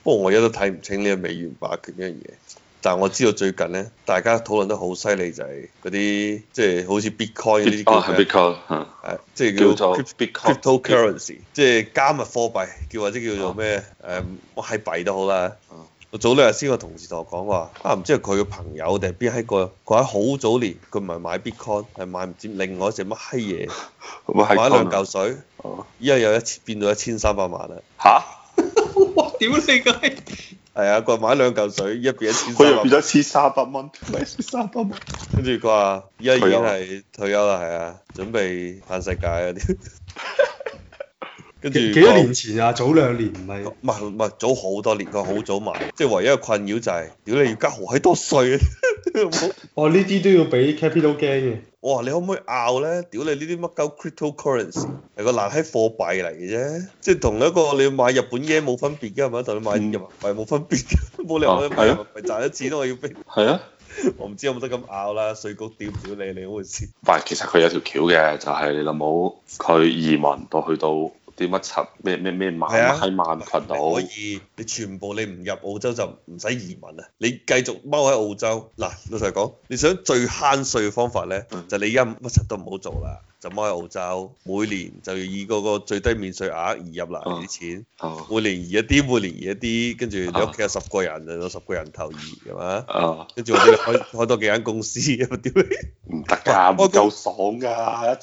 不過我而家都睇唔清呢個美元霸權呢樣嘢。但係我知道最近咧，大家討論得好犀利就係嗰啲即係好似 Bitcoin 呢啲叫咩？ 係 Bitcoin 即係叫做 Bitcoin cryptocurrency，即係加密貨幣，或者叫做咩乜閪幣都好啦。我早兩日先個同事同我講話，唔知係佢嘅朋友定係邊閪個，佢喺好早年佢唔係買 Bitcoin，係買唔知另外一隻乜閪嘢，買兩嚿水，依家有變到1300萬啦。 嚇！ 哇！屌你個閪！ 係啊，佢話買兩嚿水，依家變佢又 1300， 變咗1300蚊，咪1300蚊。 跟住佢話依家已經係退休啦，係啊，準備嘆世界嗰啲。跟住幾多年前啊？早2年唔係？ 唔係早好多年，佢好早買，即係唯一嘅困擾就係，屌你要交好閪多稅啊！ 哦，呢啲都要俾 capital gain 嘅。 我話你可唔可以拗咧？屌你呢啲乜鳩 cryptocurrency 係個爛閪貨幣嚟嘅啫，即係同一個你買日本嘢冇分別嘅係咪？同你買人民幣冇分別嘅，冇理由買人民幣賺咗錢我要俾。 係啊， 我唔知有冇得咁拗啦，稅局屌唔屌你嗰回事。 唔係，其實佢有條橋嘅，就係你諗冇佢移民到去到啲乜柒咩萬喺萬群島， 可以你全部你唔入澳洲就唔使移民啊！你繼續踎喺澳洲嗱，老實講，你想最慳稅嘅方法咧，就你而家乜柒都唔好做啦。就踎喺澳洲，每年就要以嗰個最低免稅額移入嚟啲錢，每年移一啲，每年移一啲，跟住你屋企有10個人，就有10個人頭移，係嘛？跟住或者你開多幾間公司，屌你！ 唔得㗎，唔夠爽㗎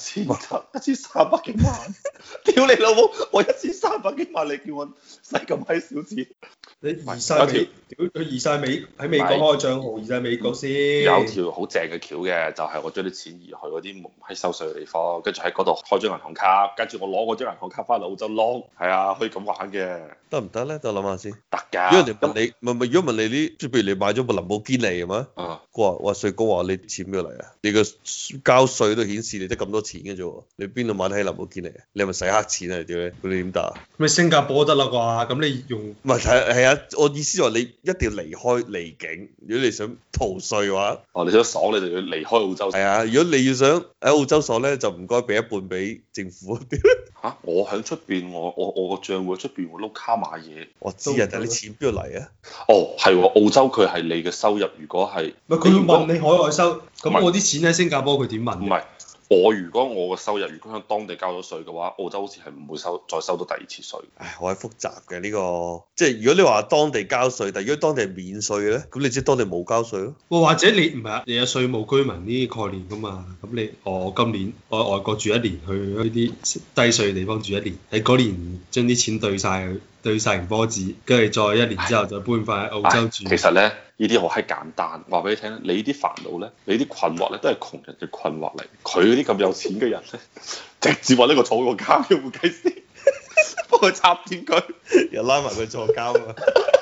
，1300幾萬，屌你老母！我1300幾萬，你叫我使咁閪少錢？ 你移晒美，屌佢移晒美喺美國開賬號，移晒美國先。 有條好正嘅橋嘅，就係我將啲錢移去嗰啲唔閪收稅嘅地方，跟住喺嗰度開張銀行卡，跟住我攞嗰張銀行卡翻嚟澳洲攞，係啊，可以咁玩嘅。 得唔得咧？等我諗下先。 得㗎。 如果人哋問你，唔係如果問你啲，即係譬如你買咗部林寶堅尼係嘛？佢話稅局話你錢邊度嚟啊？你個交稅都顯示你得咁多錢嘅啫喎，你邊度買得起林寶堅尼啊？你係咪使黑錢啊？屌你！你點答啊？ 咪新加坡得啦啩？咁你用唔係係啊？我意思話你一定要離開離境，如果你想逃稅嘅話， 你想爽你就要離開澳洲。 係啊，如果你要想喺澳洲爽咧，就唔該俾一半俾政府。 我喺出邊，我個賬戶出邊會碌卡買嘢。 我知啊，但係你錢邊度嚟啊？ 係喎，澳洲佢係你嘅收入，如果係佢會問你海外收，咁我啲錢喺新加坡佢點問？ 唔係。如果我嘅收入如果喺當地交咗稅嘅話，澳洲好似係唔會再收到第二次稅。 唉，好係複雜嘅呢個，即係如果你話當地交稅，但係如果當地係免稅嘅咧，咁你即係當地冇交稅咯。 或者你唔係啊，你有稅務居民呢啲概念噶嘛？咁你我今年我喺外國住1年，去呢啲低稅嘅地方住1年，喺嗰年將啲錢對晒成波子，跟住再1年之後就搬翻去澳洲住。 其實咧，呢啲好閪簡單，話俾你聽，你啲煩惱咧，你啲困惑咧，都係窮人嘅困惑嚟。佢嗰啲咁有錢嘅人咧，直接話呢個坐個監嘅會計師，幫佢插掂佢， 又拉埋佢坐監啊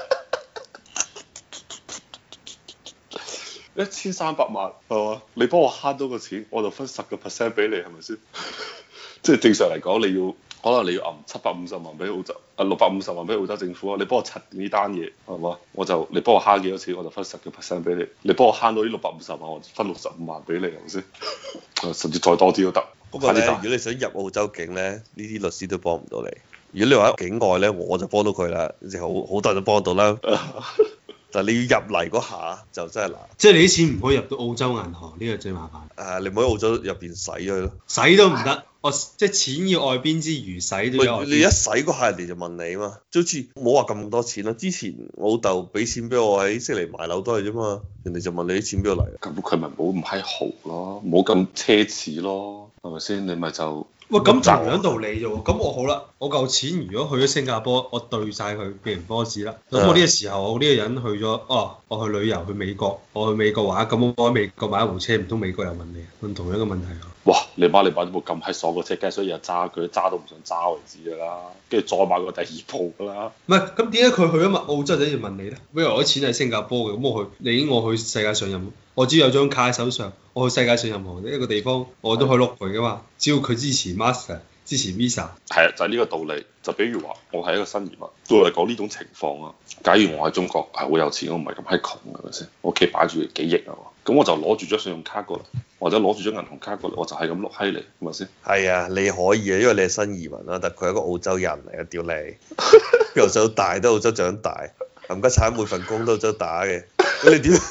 ！1300萬係嘛？你幫我慳多個錢，我就分10% 俾你，係咪先？即係正常嚟講，可能你要揞750萬俾澳洲，650萬俾澳洲政府啊！你幫我拆掂呢單嘢係嘛？你幫我慳幾多錢，我就分10% 俾你。你幫我慳到呢650萬，我就分65萬俾你，係咪先？甚至再多啲都得。 不過咧，如果你想入澳洲境咧，呢啲律師都幫唔到你。如果你話喺境外咧，我就幫到佢啦，即係好多人都幫到啦。但係你要入嚟嗰下就真係難。 即係你啲錢唔可以入到澳洲銀行，呢個最麻煩。 你唔可以喺澳洲入邊使咗佢咯。 使都唔得。即係錢要外邊之餘，使都有。 你一使嗰下，人哋就問你啊嘛，就好似冇話咁多錢啦。之前我老豆俾錢俾我喺悉尼買樓都係啫嘛，人哋就問你啲錢邊度嚟。 咁佢咪冇咁閪豪咯，冇咁奢侈咯，係咪先？你咪就喂，咁同樣道理啫喎。咁我好啦，我嚿錢如果去咗新加坡，我兌晒佢變成波子啦。咁我呢個時候，我呢個人去咗，我去旅遊去美國，我去美國玩，咁我喺美國買一部車，唔通美國又問你問同樣嘅問題啊？ 哇！你買咗部咁閪爽嘅車，梗係所以日揸佢，揸到唔想揸為止㗎啦。跟住再買個第二部㗎啦。唔係， 咁點解佢去咗澳洲就要問你咧？比如我啲錢喺新加坡嘅，咁我去世界上我只要有張卡喺手上，我去世界上任何一個地方，我都可以碌佢㗎嘛。只要佢支持 Master，支持 Visa。係啊，就係呢個道理。就比如話，我係一個新移民，對我嚟講呢種情況啊，假如我喺中國係好有錢，我唔係咁閪窮係咪先？我屋企擺住幾億啊，咁我就攞住張信用卡過嚟，或者攞住張銀行卡過嚟，我就係咁碌閪你，係咪先？ 係啊，你可以啊，因為你係新移民啦，但佢係一個澳洲人嚟嘅，屌你，由細到大都澳洲長大。 冚家產每份工都有打嘅，咁你點？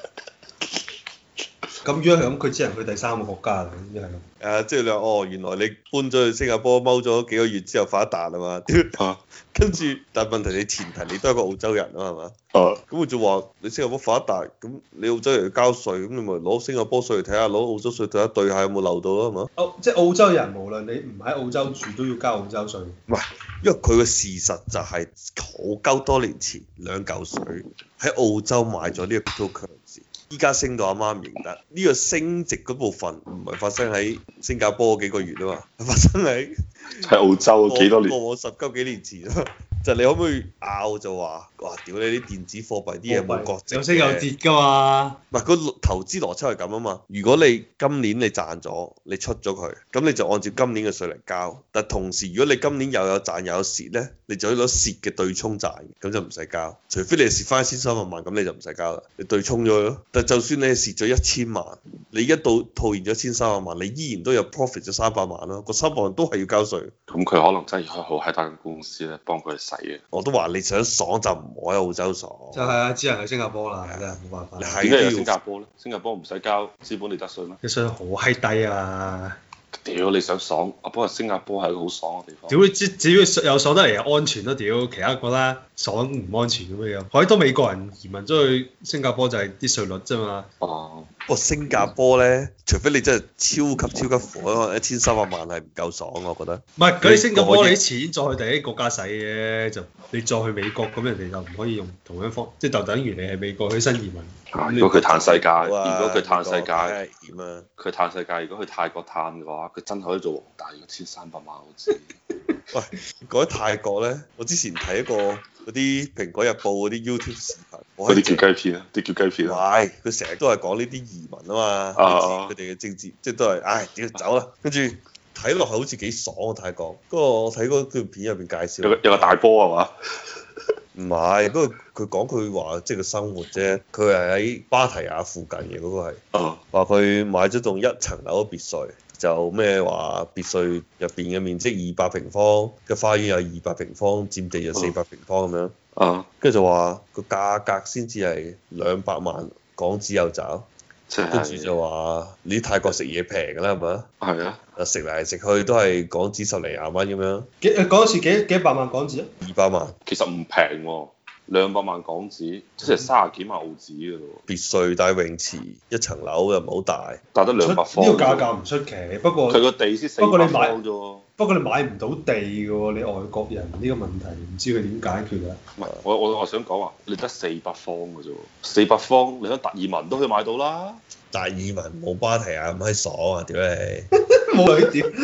咁如果係咁，佢只能去第三個國家啦，應該係咁。 即係你話哦，原來你搬咗去新加坡踎咗幾個月之後發一達啊嘛，跟住但係問題你前提你都係個澳洲人啊係嘛？咁佢就話你新加坡發一達，咁你澳洲人要交稅，咁你咪攞新加坡稅嚟睇下，攞澳洲稅睇下對下有冇漏到咯係嘛？ 即係澳洲人無論你唔喺澳洲住都要交澳洲稅。 唔係，因為佢嘅事實就係好鳩多年前兩嚿水喺澳洲買咗呢個 cryptocurrency。依家升到阿媽唔認得，呢個升值嗰部分唔係發生喺新加坡嗰幾個月啊嘛，係發生喺澳洲幾多年？ 過10幾年前啊，就你可唔可以拗就話，哇！屌你啲電子貨幣啲嘢冇國籍， 有升有跌㗎嘛？ 唔係個投資邏輯係咁啊嘛。如果你今年你賺咗，你出咗佢，咁你就按照今年嘅稅嚟交。但同時如果你今年又有賺又有蝕咧，你就可以攞蝕嘅對沖賺，咁就唔使交。除非你係蝕翻1300萬，咁你就唔使交啦，你對沖咗佢咯。但就算你係蝕咗1000萬，你一到套現咗1300萬，你依然都有 profit 咗300萬咯。個300萬都係要交稅。 咁佢可能真係開好閪大間公司咧，幫佢洗嘅。 我都話你想爽就唔好喺澳洲爽。 就係啊，只能去新加坡啦，真係冇辦法。 點解有新加坡咧？新加坡唔使交資本利得稅咩？ 啲稅好閪低啊！ 屌你想爽，不過新加坡係一個好爽嘅地方。 屌你只要有爽得嚟又安全咯，屌其他覺得爽唔安全咁樣。好多美國人移民咗去新加坡就係啲稅率啫嘛。 哦。 不過新加坡咧，除非你真係超級火，可能1300萬係唔夠爽，我覺得。 唔係，嗰啲新加坡你啲錢再去第一個國家使嘅，就你再去美國咁人哋就唔可以用同樣方，即係就等於你係美國去新移民。 如果佢嘆世界， 如如果佢嘆世界， 點啊？ 佢嘆世界，如果去泰國嘆嘅話，佢真係可以做皇帝，1300萬好似。 喂，講起泰國咧，我之前睇一個嗰啲蘋果日報嗰啲 YouTube 視頻， 嗰啲叫雞片啊，啲叫雞片啊。 喂，佢成日都係講呢啲移民啊嘛，佢哋嘅政治，即係都係，唉，屌走啦，跟住睇落去好似幾爽啊泰國。不過我睇嗰段片入邊介紹， 有個大波係嘛？ 唔係，不過佢講佢話即係個生活啫，佢係喺芭提雅附近嘅嗰個係，話佢買咗棟1層樓嘅別墅。就咩話別墅入邊嘅面積200平方，嘅花園有200平方，佔地就400平方咁樣。跟住就話個價格先至係200萬港紙有找，跟住就話你泰國食嘢平㗎啦，係咪？ 係啊。 食嚟食去都係港紙10零20蚊咁樣。 嗰時幾百萬港紙啊 ？200萬。 其實唔平喎。200萬港紙，即係30幾萬澳紙嘅咯。 別墅帶泳池，1層樓又唔好大， 但得200方。 呢個價格唔出奇，不過佢個地先400方啫喎。 不過你買唔到地嘅喎，你外國人呢個問題唔知佢點解決啊？ 唔係，我想講話，你得400方嘅啫喎，400方你喺達爾文都可以買到啦。 達爾文冇芭提雅咁閪爽啊！屌你， 冇佢屌。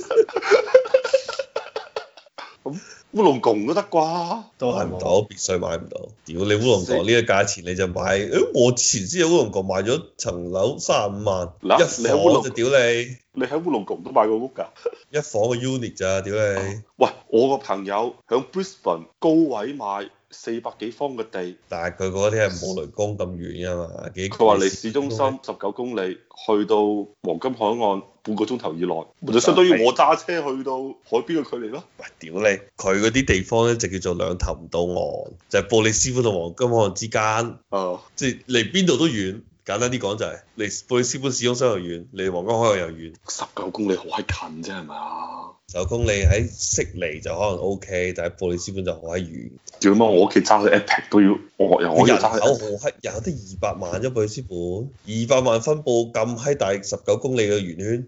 咁烏龍宮都得啩？ 都係買唔到，別墅買唔到。屌你烏龍宮呢個價錢你就買，我之前先有烏龍宮買咗層樓35萬，一房就屌你。 你喺烏龍宮都買過屋㗎？ 一房嘅 unit 咋，屌你！ 喂，我個朋友喺 Brisbane 高位買400幾方嘅地， 但係佢嗰啲係冇雷公咁遠㗎嘛， 佢話離市中心19公里，去到黃金海岸半個鐘頭以內，就相當於我揸車去到海邊嘅距離咯。 喂，屌你！佢嗰啲地方咧就叫做兩頭唔到岸，就係布里斯本同黃金海岸之間，即係離邊度都遠。簡單啲講就係，離布里斯本市中心又遠，離黃金海岸又遠。 19公里好閪近啫，係咪啊 ？19公里喺悉尼就可能 OK，但係布里斯本就好閪遠。 屌媽！我屋企揸去 Epic 都要，我人口好閪，人口得200萬啫，布里斯本200萬分佈咁閪大19公里嘅圓圈，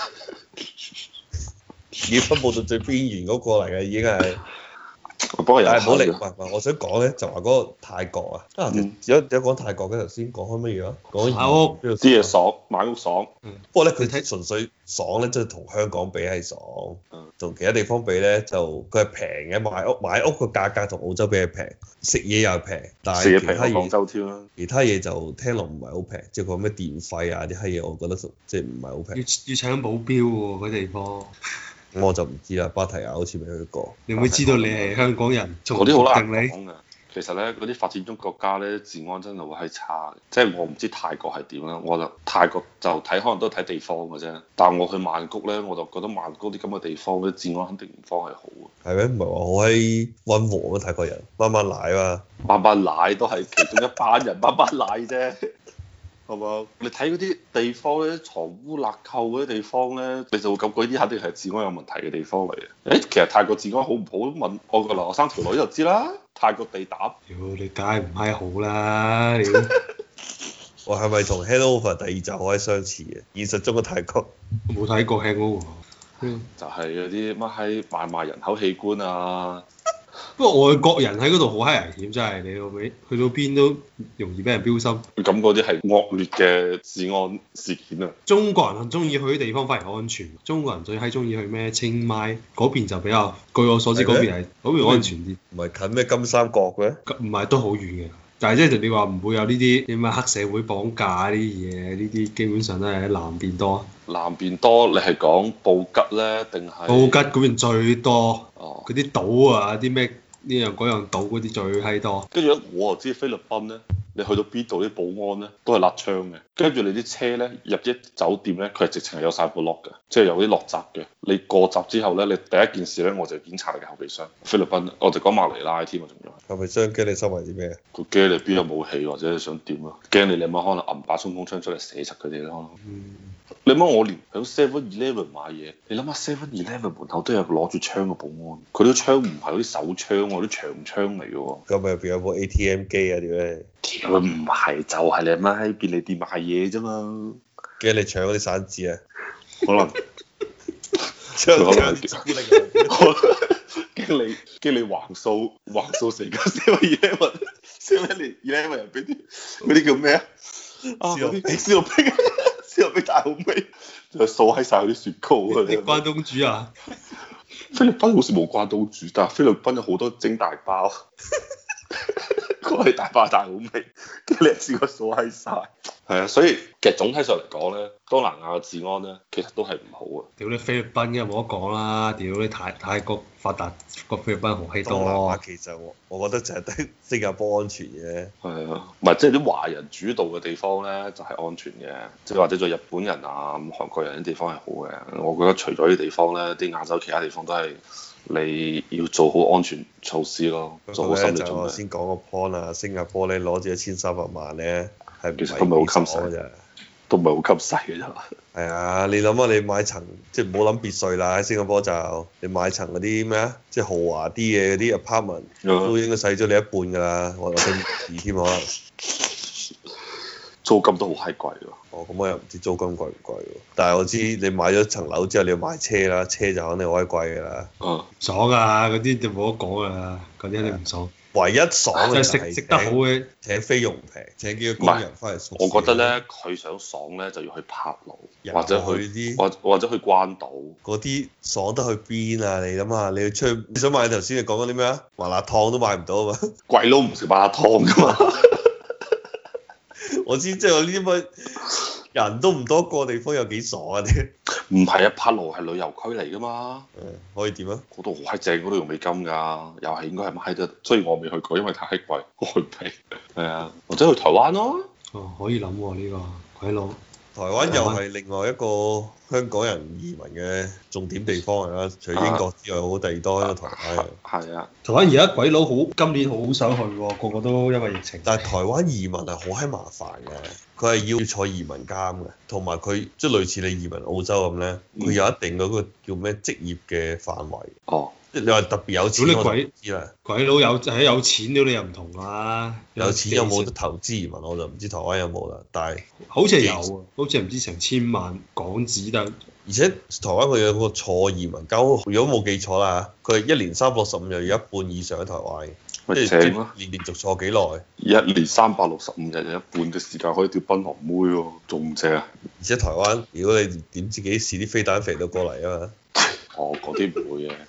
已經分佈到最邊緣嗰個嚟嘅已經係。 不過又係唔好理，唔係我想講咧，就話嗰個泰國啊，有講泰國嘅頭先講開乜嘢啊？講買屋啲嘢爽，買屋爽。 不過咧，佢睇純粹爽咧，即係同香港比係爽，同其他地方比咧就佢係平嘅，買屋個價格同澳洲比係平，食嘢又平，但係其他嘢廣州添啦。 其他嘢就聽落唔係好平，即係講咩電費啊啲閪嘢，我覺得即係唔係好平。 要搶保鏢喎，嗰地方。 我就唔知啦，芭提雅好似未去過。 你會知道你係香港人， 嗰啲好難講㗎。 其實咧嗰啲發展中國家咧治安真係好閪差嘅，即係我唔知泰國係點啦，我就泰國就睇可能都係睇地方嘅啫。但係我去曼谷咧，我就覺得曼谷啲咁嘅地方咧治安肯定唔方係好嘅。 係咩？唔係話好閪溫和咩？泰國人慢慢奶嘛， 慢慢奶都係其中一班人慢慢奶啫。係嘛？你睇嗰啲地方咧，藏污納垢嗰啲地方咧，你就會感覺呢啲肯定係治安有問題嘅地方嚟嘅。誒，其實泰國治安好唔好？問我個留學生條女就知啦。泰國地膽， 屌你梗係唔係好啦！你我係咪同《Hangover》第二集好閪相似嘅？現實中嘅泰國冇睇過 Hangover。 就係嗰啲乜閪買賣人口器官啊！ 不過外國人喺嗰度好閪危險，真係你老味，去到邊都容易俾人標心。 咁嗰啲係惡劣嘅治安事件啊！ 中國人中意去啲地方反而安全，中國人最閪中意去咩清邁嗰邊就比較，據我所知嗰邊係嗰邊安全啲。 唔係近咩金三角嘅？ 唔係都好遠嘅，但係即係你話唔會有呢啲啲咩黑社會綁架呢啲嘢，呢啲基本上都係喺南邊多。 南邊多，你係講布吉咧定係？ 布吉嗰邊最多， 哦， 嗰啲島啊，啲咩呢樣嗰樣島嗰啲最閪多。 跟住咧，我就知菲律賓咧，你去到邊度啲保安咧都係揦槍嘅，跟住你啲車咧入啲酒店咧，佢係直情係有晒部 lock 嘅，即係有啲落閘嘅。你過閘之後咧，你第一件事咧我就檢查你嘅後備箱。菲律賓，我就講馬尼拉添啊，仲有後備箱驚你收埋啲咩？ 佢驚你邊有武器或者你想點啊？驚你媽可能揞把衝鋒槍出嚟射實佢哋咯。你諗我連喺 7-Eleven 買嘢，你諗下 7-Eleven 門口都有攞住槍嘅保安，佢啲槍唔係嗰啲手槍喎，啲長槍嚟嘅喎。 咁咪入邊有部 ATM 機啊？點咧？ 屌唔係，就係你阿媽喺便利店買嘢啫嘛。 驚你搶嗰啲散紙啊？ 可能搶可能散紙驚你橫掃成間 7-Eleven 入邊啲嗰啲叫咩啊？啊嗰啲燒肉冰，燒肉冰大好味，就掃喺晒嗰啲雪糕啊！ 你關東煮啊？ 菲律賓好似冇關東煮，但係菲律賓有好多蒸大包，嗰係大包大好味，跟住你一次過掃喺晒。係啊，所以其實總體上嚟講咧，東南亞嘅治安咧，其實都係唔好啊。 屌你菲律賓嘅冇得講啦，屌你泰國發達個菲律賓好閪東南多。 亞其實我覺得就係得新加坡安全嘅。 係啊，唔係即係啲華人主導嘅地方咧，就係安全嘅，即係或者做日本人啊、韓國人啲地方係好嘅。我覺得除咗呢啲地方咧，啲亞洲其他地方都係你要做好安全措施咯，做好心理準備。 我先講個 point 啊，新加坡咧攞住1300萬咧，係其實都唔係好襟使嘅， 都唔係好吸勢嘅啫。 係啊，你諗下，你買層即係唔好諗別墅啦，喺新加坡就你買層嗰啲咩啊，即係豪華啲嘅嗰啲 apartment 都應該使咗你一半㗎啦，或者二添可能。 租金都好閪貴喎。 哦，咁我又唔知租金貴唔貴喎，但係我知你買咗層樓之後你要買車啦，車就肯定好閪貴㗎啦。 爽啊！嗰啲就冇得講㗎啦，嗰啲肯定唔爽。 唯一爽嘅就係食得好嘅， 請菲傭平，請幾個工人翻嚟。 我覺得咧，佢想爽咧就要去柏勞，或者去啲， 或者去關島。 嗰啲爽得去邊啊？你諗下，你去出去，你想買頭先你講緊啲咩啊？麻辣燙都買唔到啊嘛！ 鬼佬唔食麻辣燙㗎嘛！ 我知即係我呢啲乜人都唔多個地方有幾爽啊啲。 唔係啊，柏勞係旅遊區嚟㗎嘛。 可以點啊？ 嗰度好閪正，嗰度用美金㗎，又係應該係買得。雖然我未去過，因為太閪貴，我去唔起。係啊，或者去台灣咯。 哦，可以諗喎呢個鬼佬。 台灣又係另外一個香港人移民嘅重點地方嚟啦，除咗英國之外，好第二多喺台灣。 係啊， 台灣而家鬼佬好，今年好想去喎，個個都因為疫情。 但係台灣移民係好閪麻煩嘅，佢係要坐移民監嘅，同埋佢即係類似你移民澳洲咁咧，佢有一定嗰個叫咩職業嘅範圍。 哦。 即係你話特別有錢，我唔知啦。 鬼佬有錢屌你又唔同啦。 有錢有冇得投資移民我就唔知台灣有冇啦，但係好似係有啊，好似係唔知成千萬港紙但。 而且台灣佢有個坐移民監，如果冇記錯啦，佢係一年365日有一半以上喺台灣嘅，即係連續坐幾耐？ 一年365日有一半嘅時間可以釣檳榔妹喎，仲正啊！ 而且台灣如果你點知幾時啲飛彈飛到過嚟啊嘛？ 哦，嗰啲唔會嘅，